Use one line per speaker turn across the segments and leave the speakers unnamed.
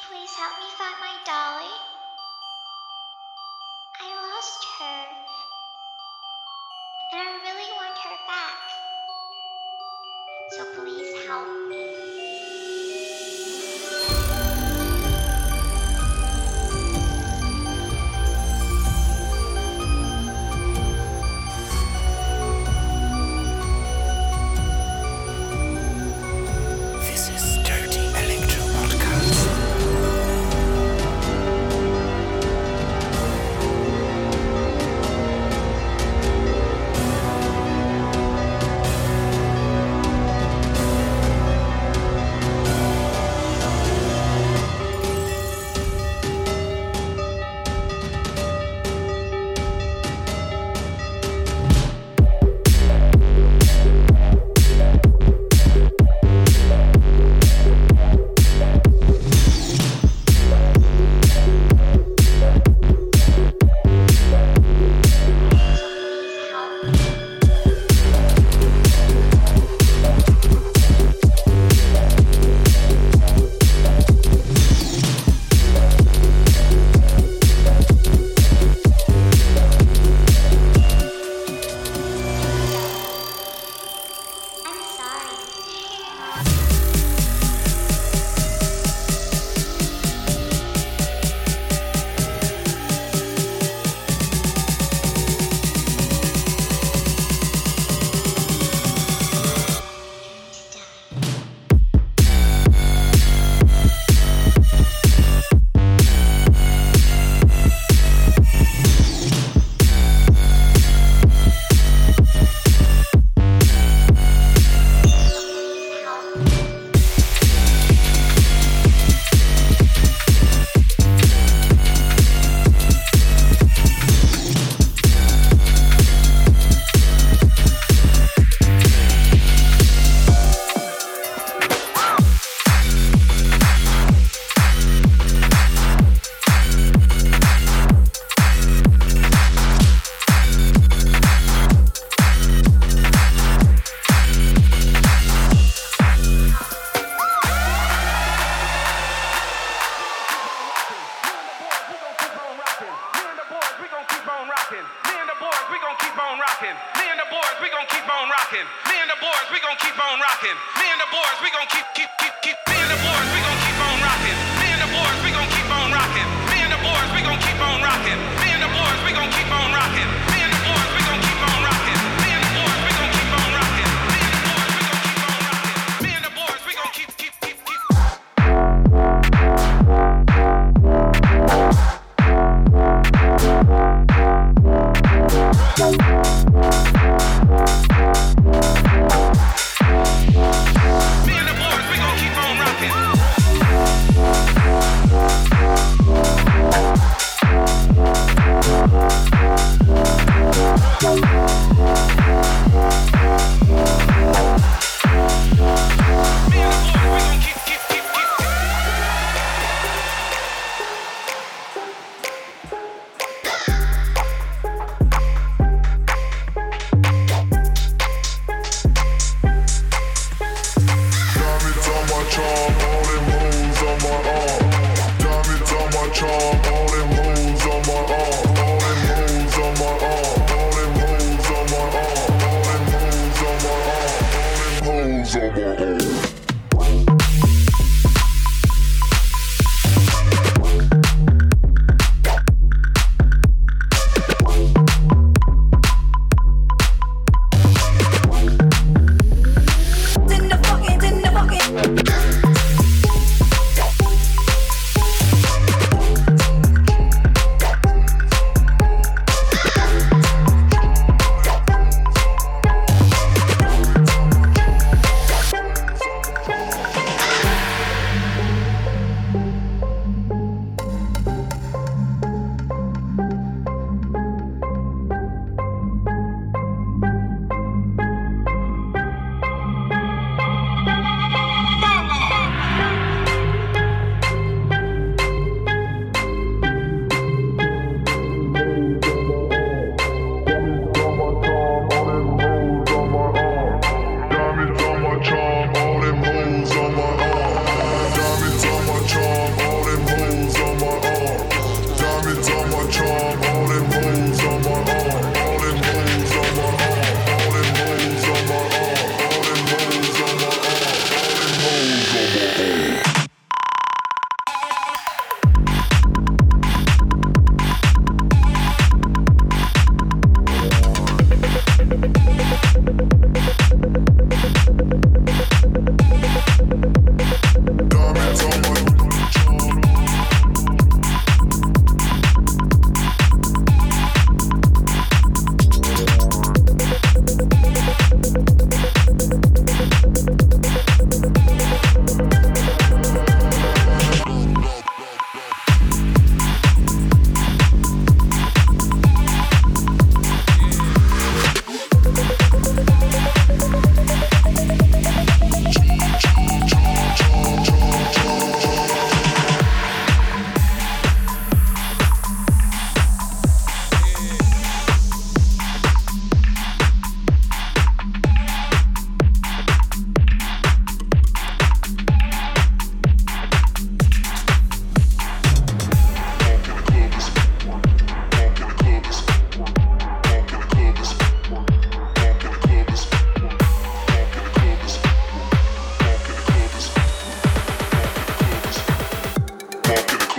please help me find my dolly? I lost her. And I really want her back. So please help me.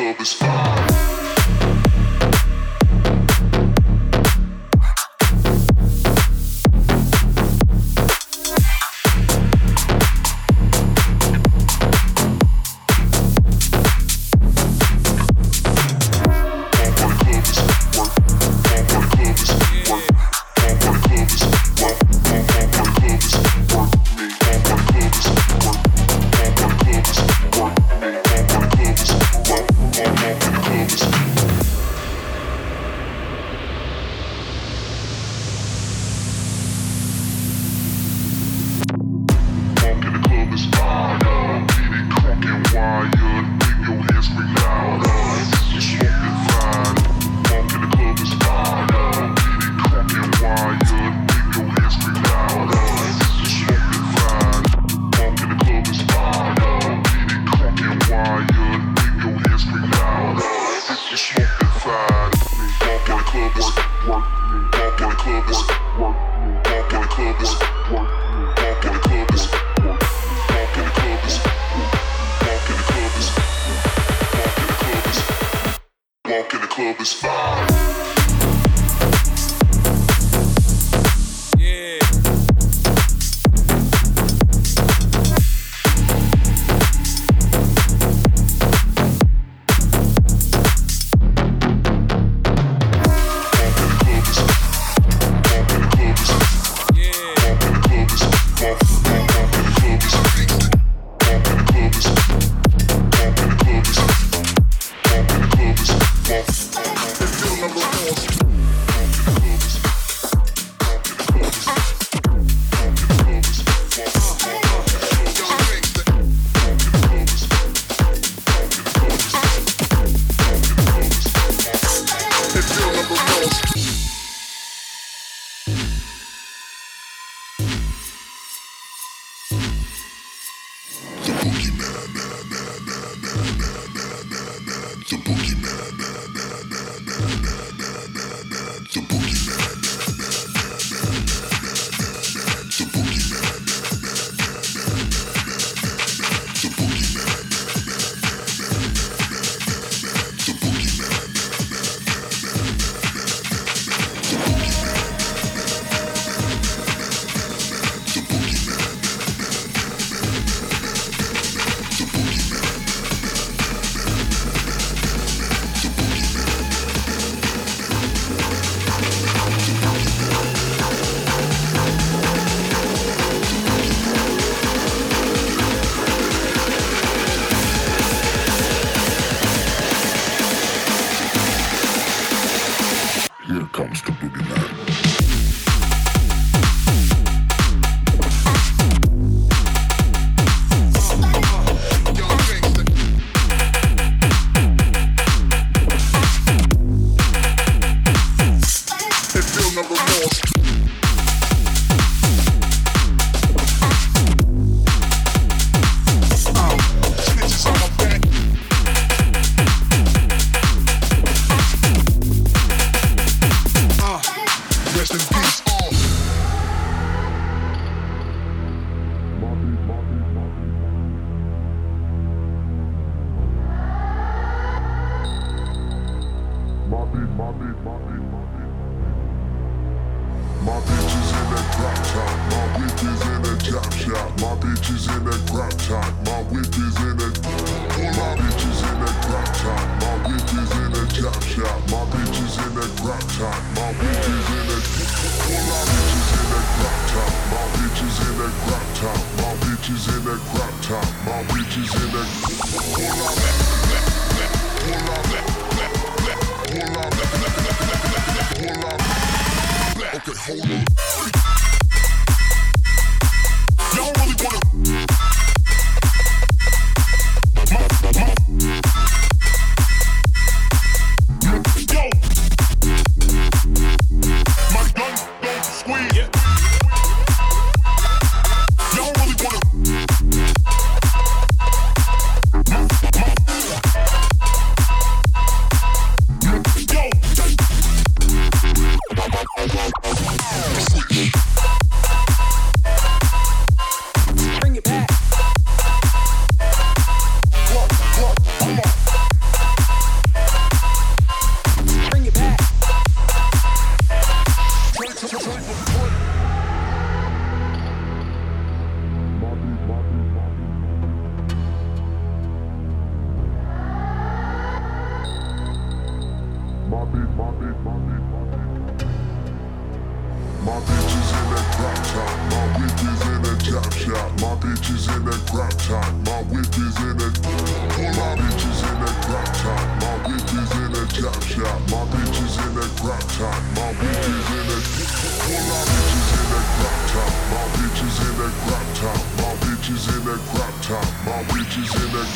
club is fire. bitches in that crop top. My whip is in that. My bitches in that crop top. My whip is in that chop shop. My bitches in that crop top. My whip is in that. My bitches in that crop top. My bitches in that crop top. My bitches in that crop top. My bitches in that.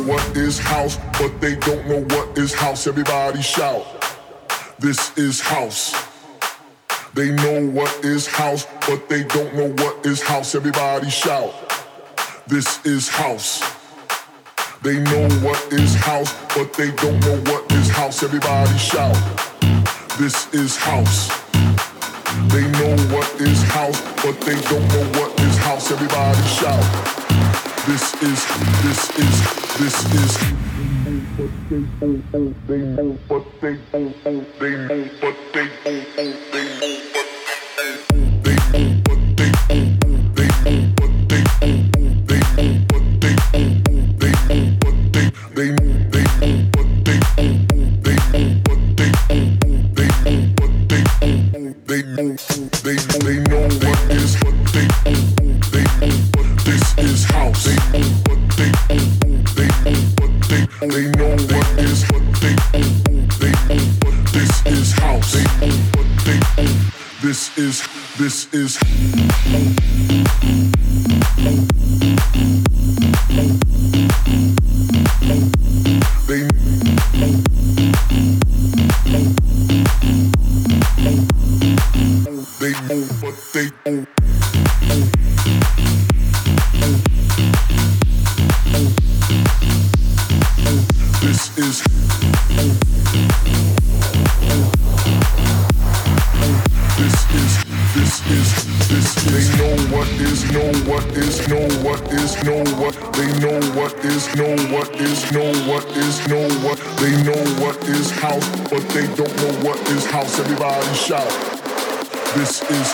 what is house, but they don't know what is house. Everybody shout. This is house. They know what is house, but they don't know what is house. Everybody shout. This is house. They know what is house, but they don't know what is house. Everybody shout. This is house. They know what is house, but they don't know what is house. Everybody shout. This is. They know, but they know, they know, but they know, they know, they know, but they know, they know, but they know, they know, but they know, they know, but they know, they know, but they know, they know, but they know, they know, but they know, they know, they know what is what they know, they know, but this is house. They know what they know, they know, but they know what is what they know, they know, but this is house. They know what they know. This is they know what they know. This is they know what is know what is know what is know what they know what is know what is know what is know what they know what is house, but they don't know what is house. Everybody shout. This is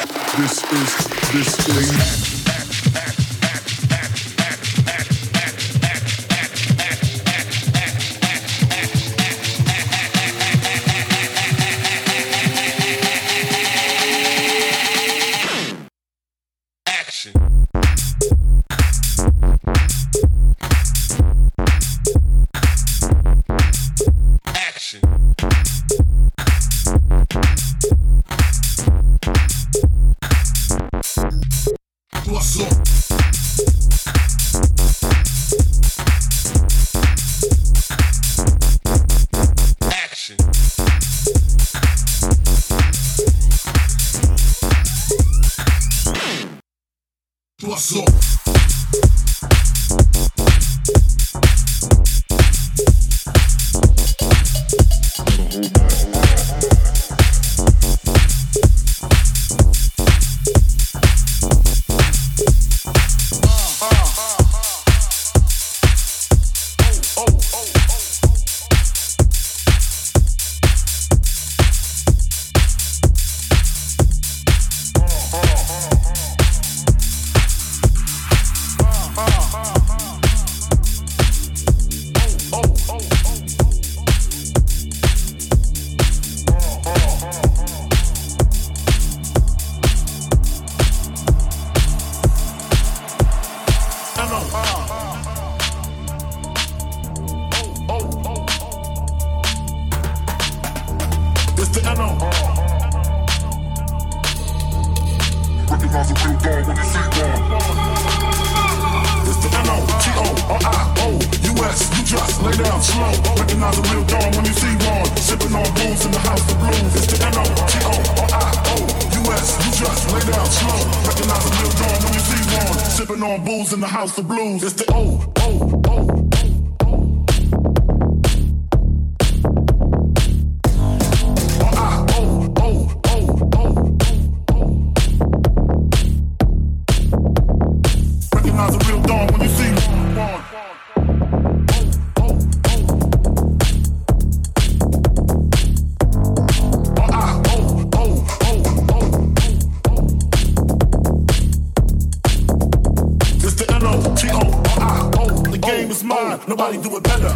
Nobody do it better.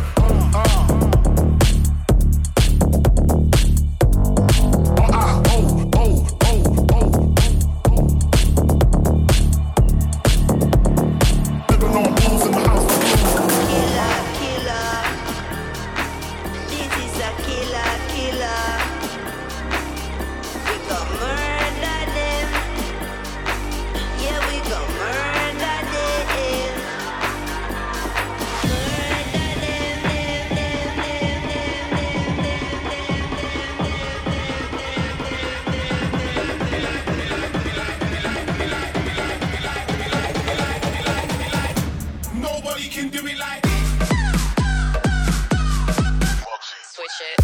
Murder them.
nobody can do it like
Switch it.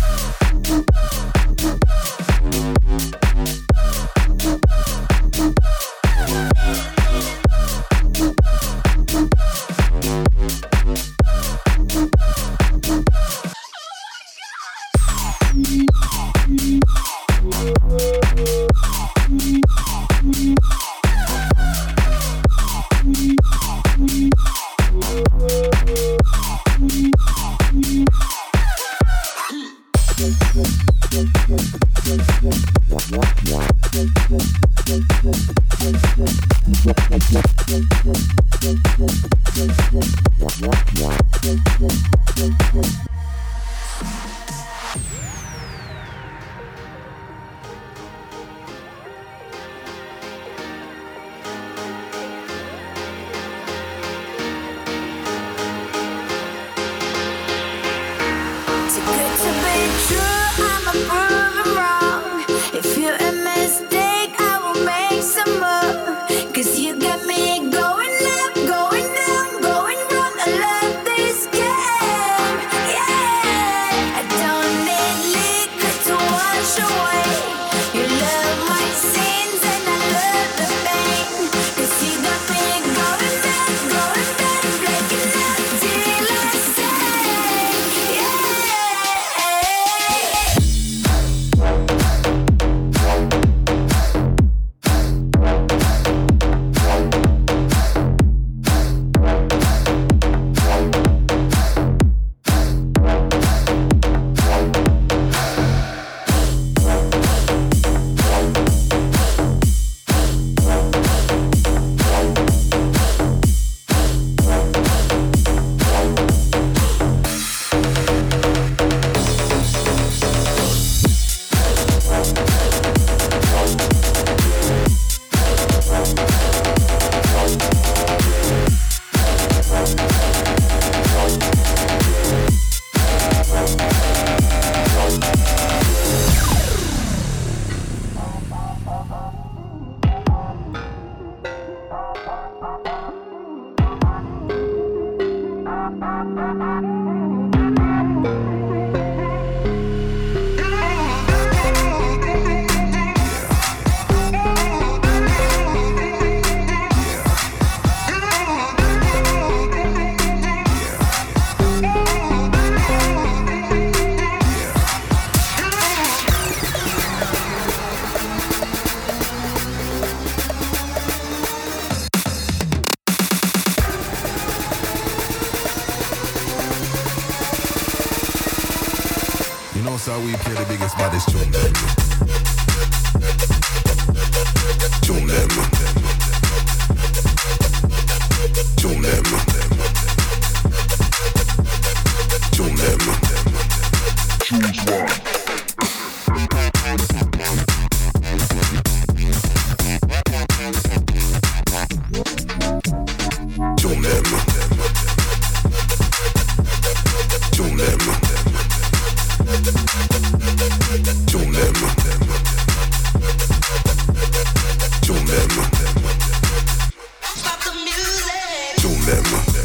So we play the biggest baddest tune them. Tune them. Tune them. Tune them.
Choose one.
Tune them. Tune them. Tune them. Tune them.
Stop the music.
Tune them.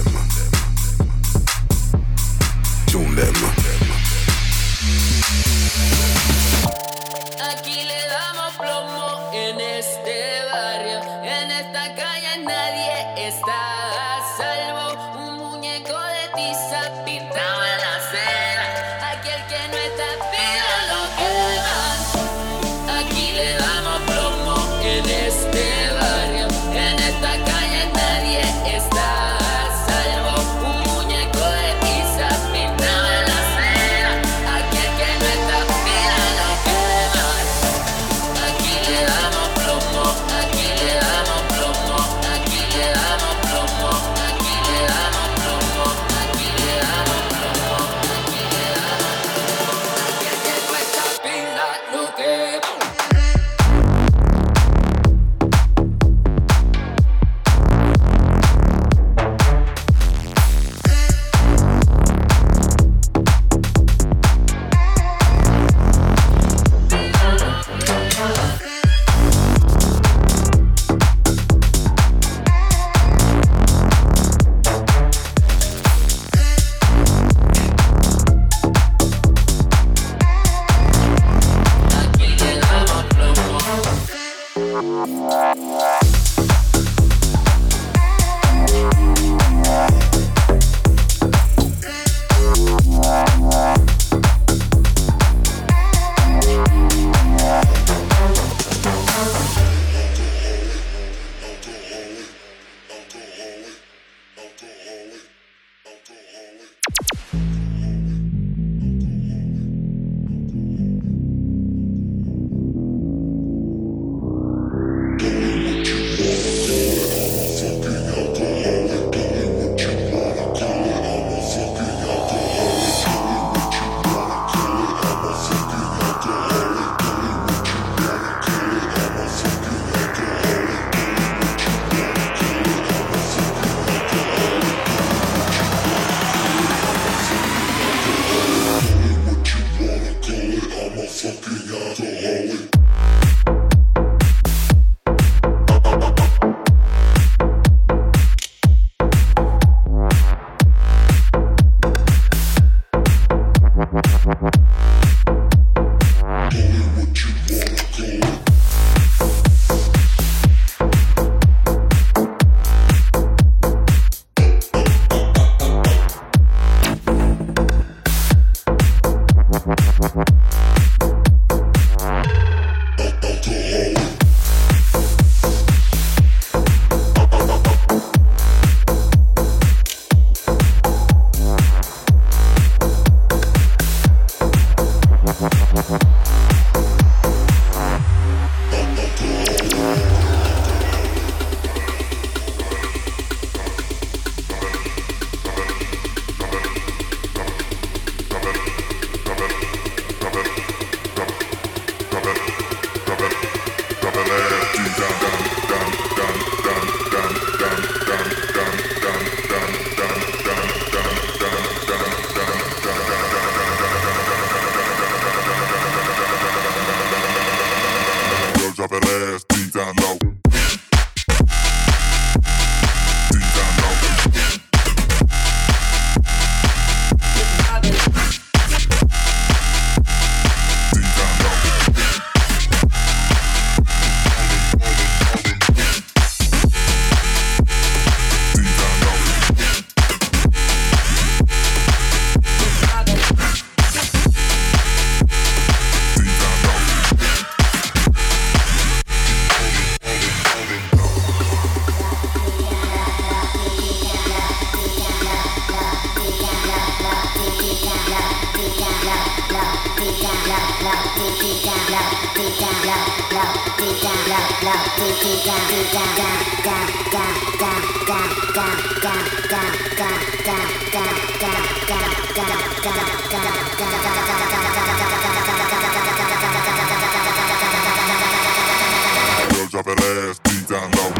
Drop that ass deep down low.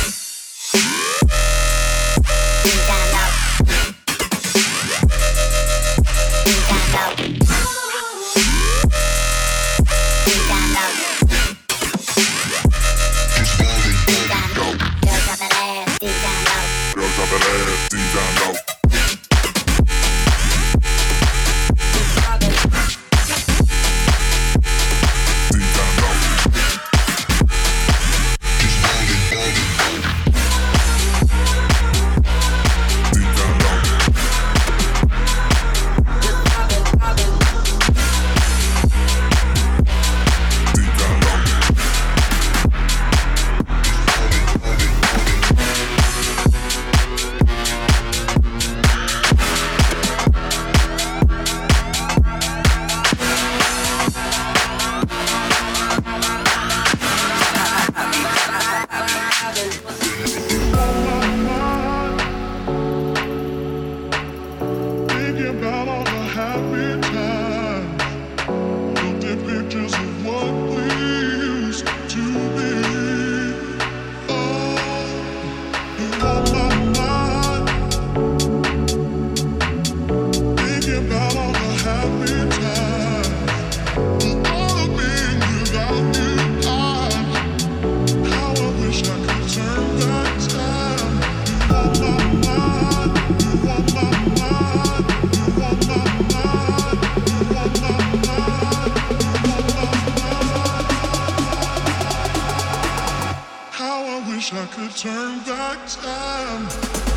turn back time.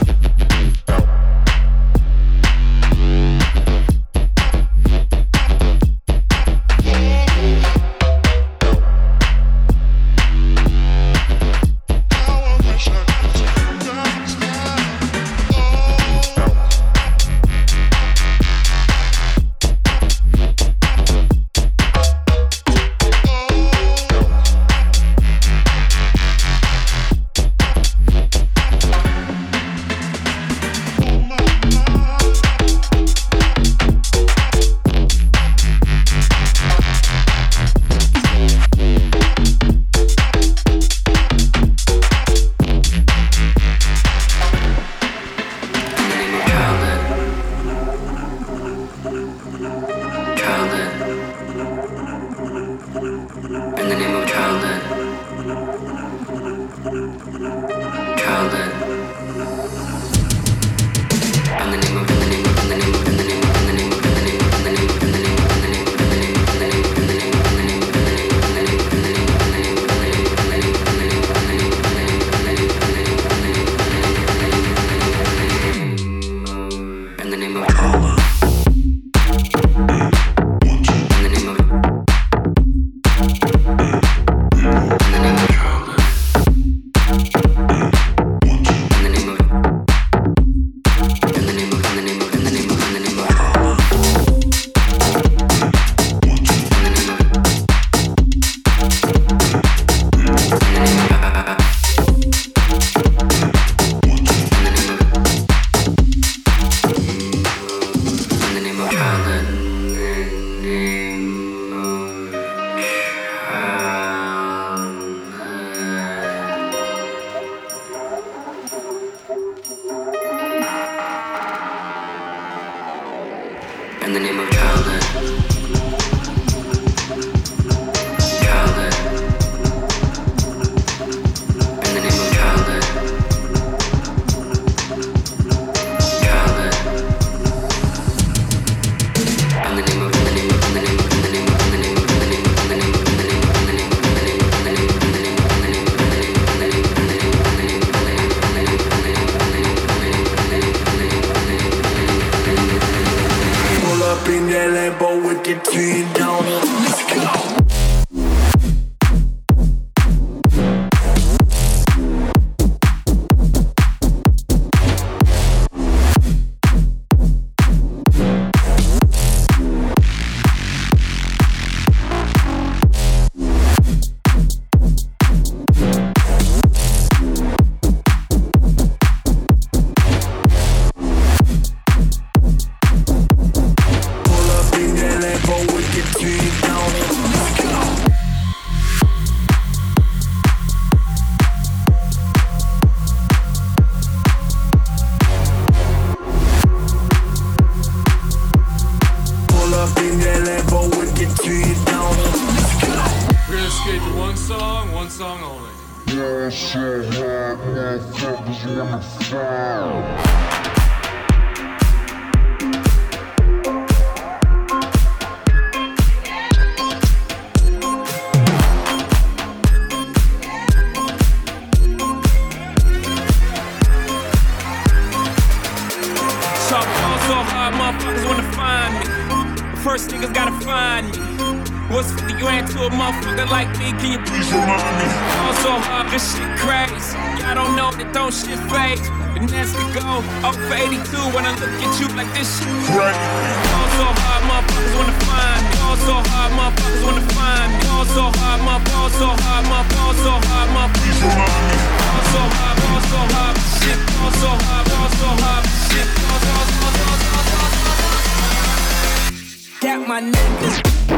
In the name of childhood. Childhood. In the name of childhood. Childhood. In the name of
up in that Lambo with the 10 on it. Let's go.
song only.
Ball so hard, motherfuckers wanna fall.
So hard, motherfuckers wanna find me. First niggas gotta find me. What's 50 grand to a motherfucker like me? Can you please remind me? Fall so hard, this shit crazy. Y'all don't know that don't shit phase. And that's to go 0 for 82 when I look at you like this shit crazy. Fall so hard, motherfuckers wanna find me. Fall so hard, motherfuckers wanna find me. Fall so hard, fall so hard, fall so hard, please remind me. Fall so hard, shit. Fall so hard, shit. Got my niggas.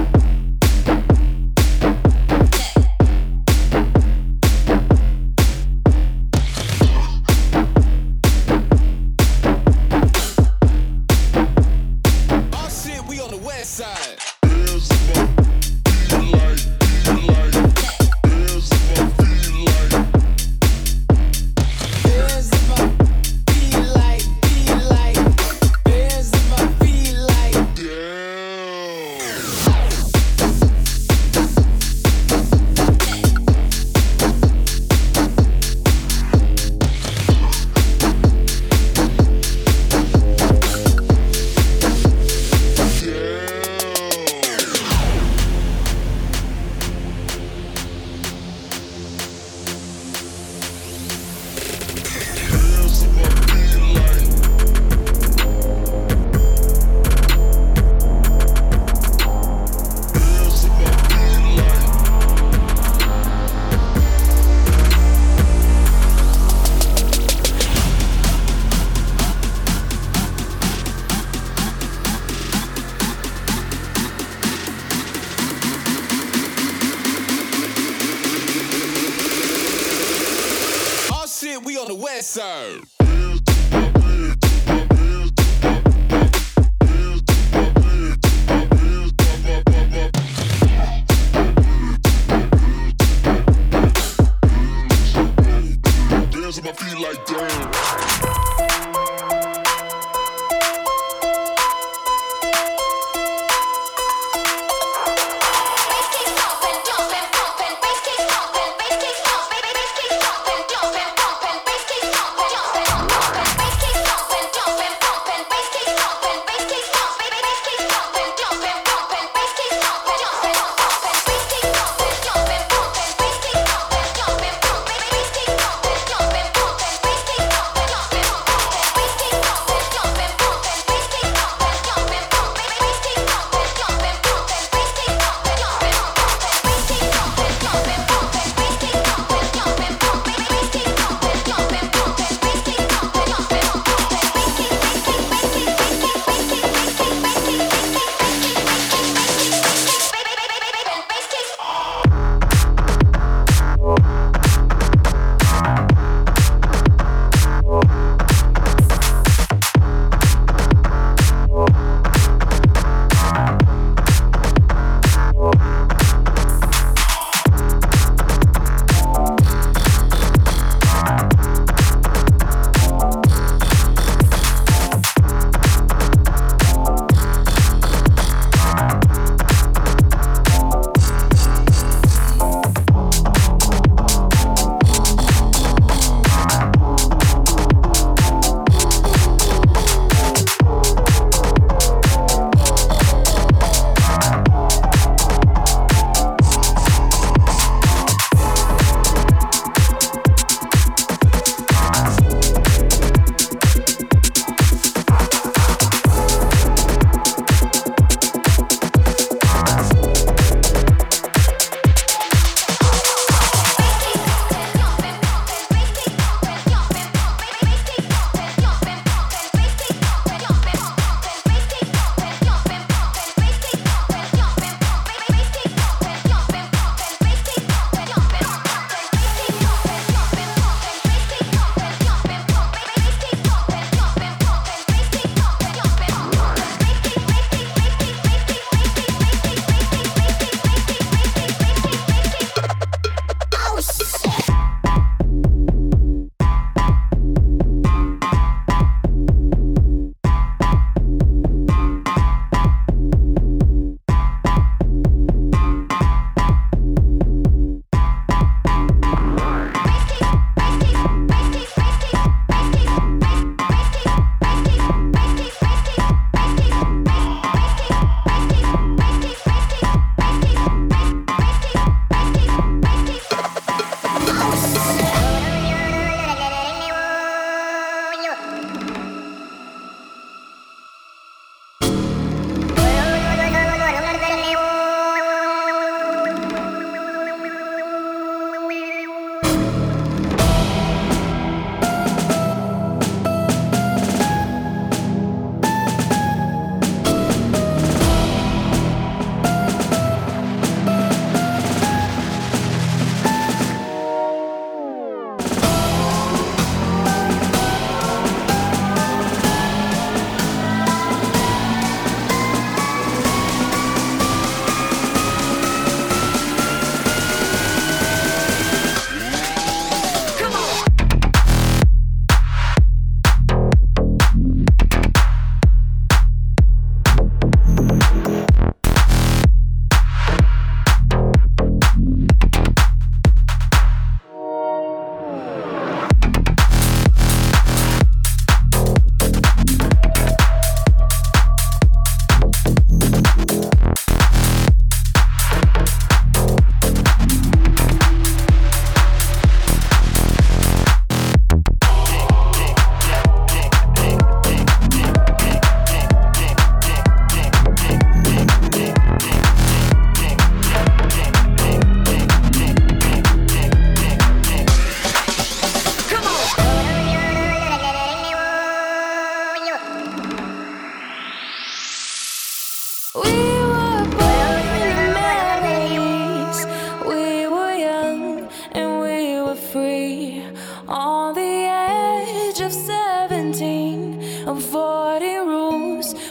We on the west side.
Dance on my feet like damn.
Bass keep stomping, bass keep stomping, bass keep stomping, jumping, bumping, bass keep stomping, jumping.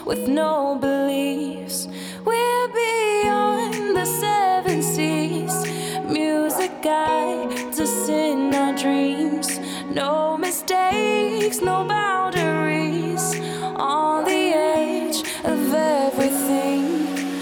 with no beliefs. We're beyond the seven seas. Music guides us in our dreams. No mistakes, no boundaries. On the edge of everything.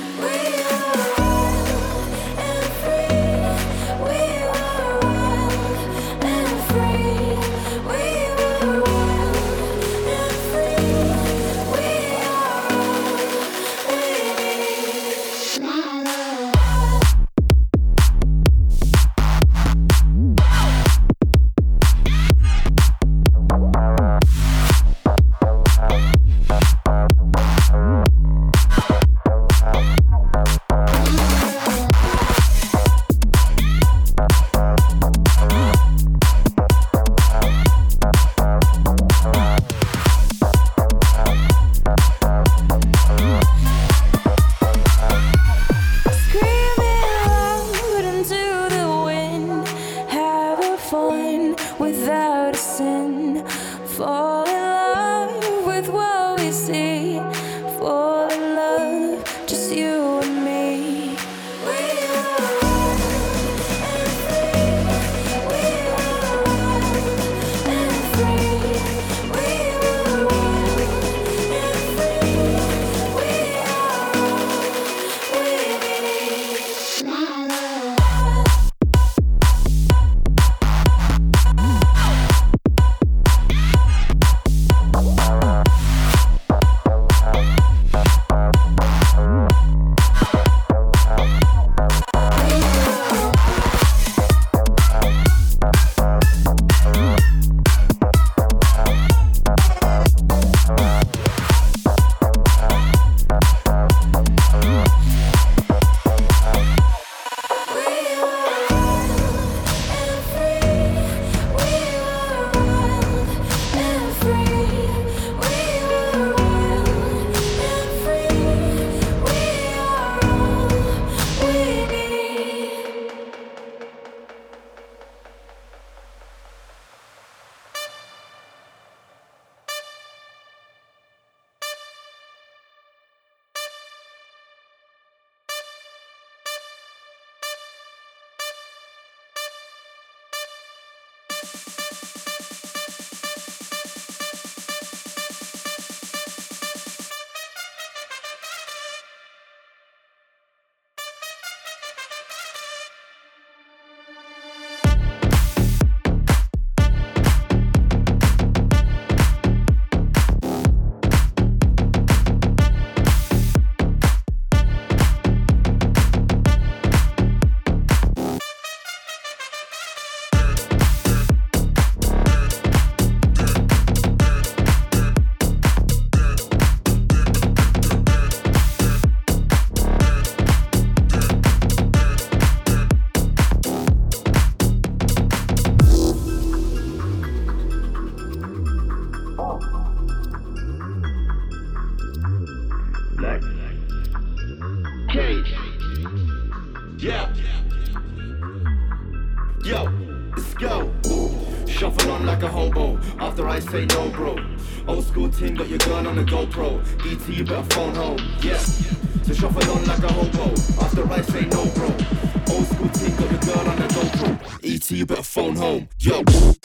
Say no, bro. Old school team got your gun on the GoPro. ET, you better phone home. Yeah. So shuffle on like a hobo. After I say no, bro. Old school team got your gun on the GoPro. ET, you better phone home. Yo.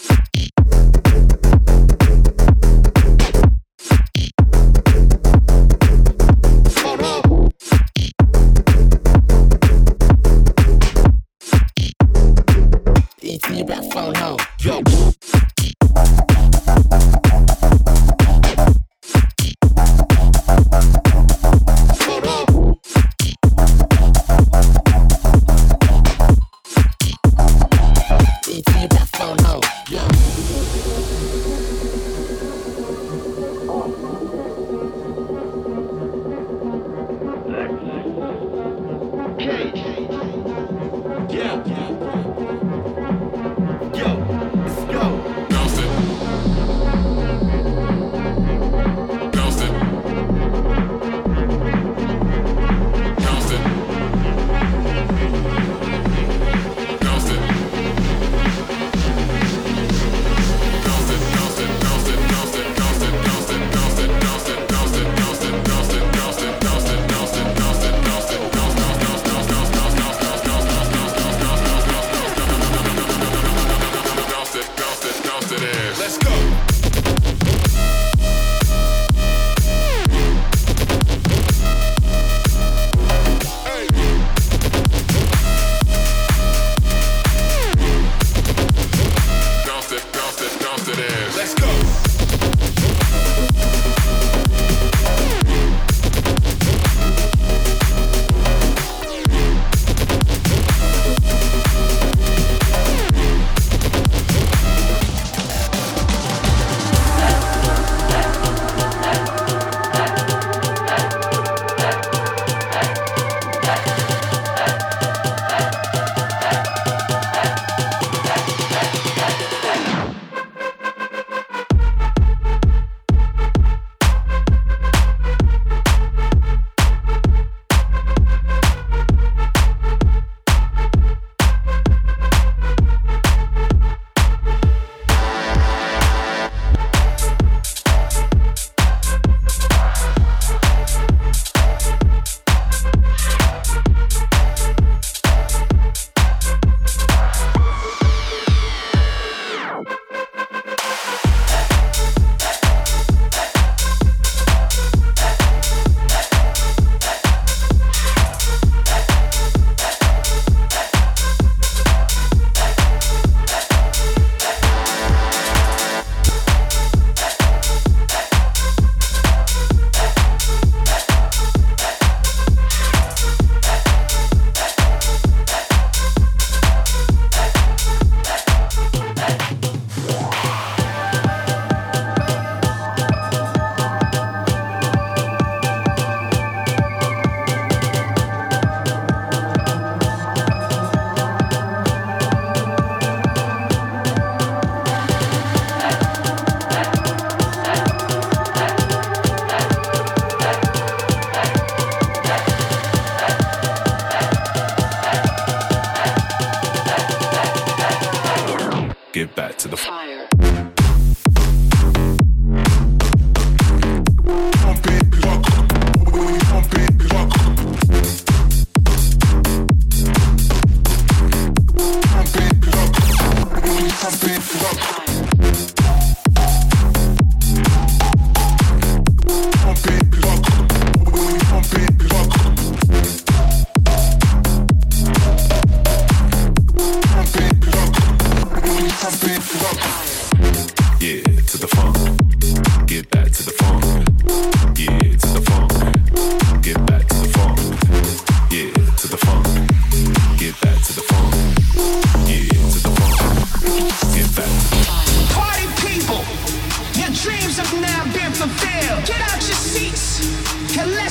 Phone home. ET, you better phone home. Yo. Yeah.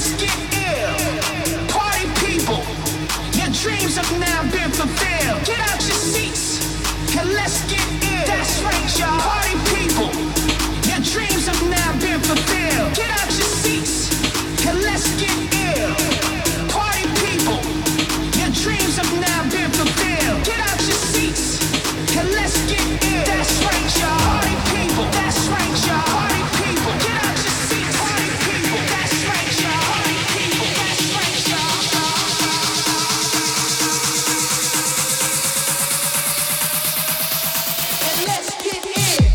let's get ill. Party people, your dreams have now been fulfilled. Get out your seats and let's get ill. That's right, y'all. Party people, your dreams have now been fulfilled. Get out your seats and let's get ill. Party people, your dreams have now been fulfilled. Get out your seats and let's get ill. That's right, y'all. Party people, that's right, y'all. Party people, get out your seats. Party people, that's right, y'all. Party people, that's right, y'all. And let's get ill.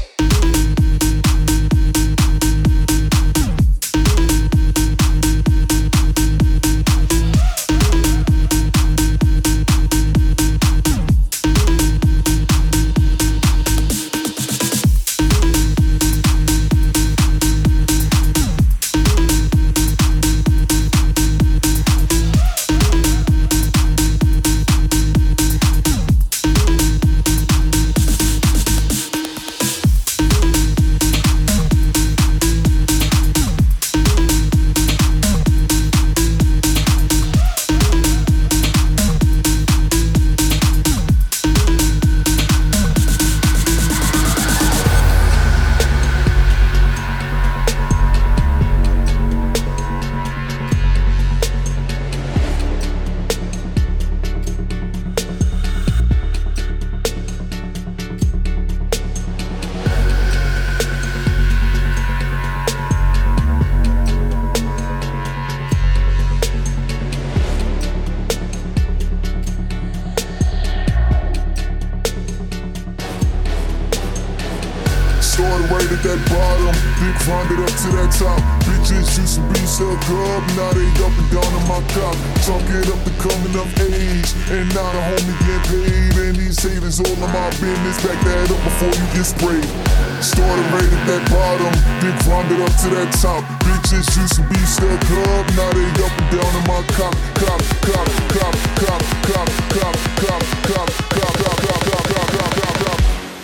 Started right at that bottom, then climbed it up to that top. Bitches used to be stuck up, now they up and down on my cock. Talking up the coming of age, and now the homie get paid. And these haters all in my business, back that up before you get sprayed. Started right at that bottom, then climbed it up to that top. Bitches used to be stuck up, now they up and down on my cock. Cop, cop, cop, cop, cop, cop, cop, cop, cop, cop, cop, cop, cop, cop, cop, cop.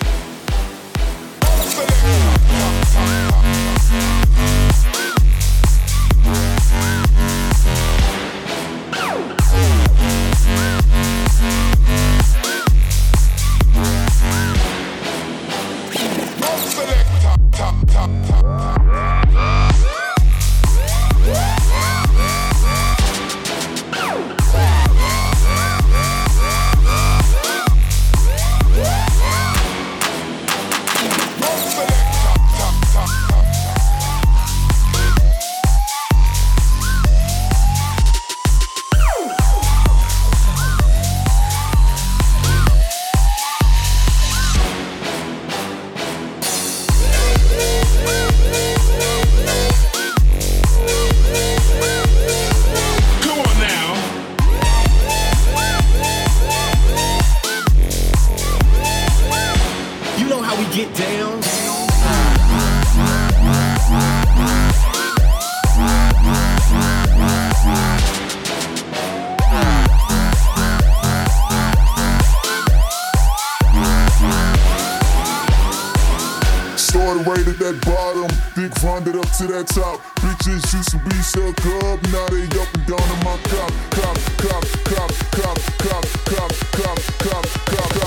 Right at that bottom, then climbed it up to that top. Bitches used to be stuck up, now they up and down on my cop. Cop, cop, cop, cop, cop, cop, cop, cop, cop, cop.